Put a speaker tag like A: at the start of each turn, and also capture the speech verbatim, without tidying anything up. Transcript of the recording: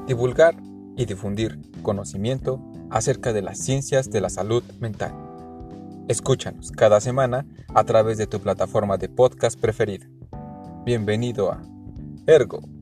A: divulgar y difundir conocimiento acerca de las ciencias de la salud mental. Escúchanos cada semana a través de tu plataforma de podcast preferida. Bienvenido a Ergo.